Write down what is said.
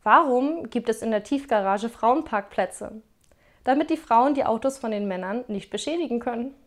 Warum gibt es in der Tiefgarage Frauenparkplätze? Damit die Frauen die Autos von den Männern nicht beschädigen können.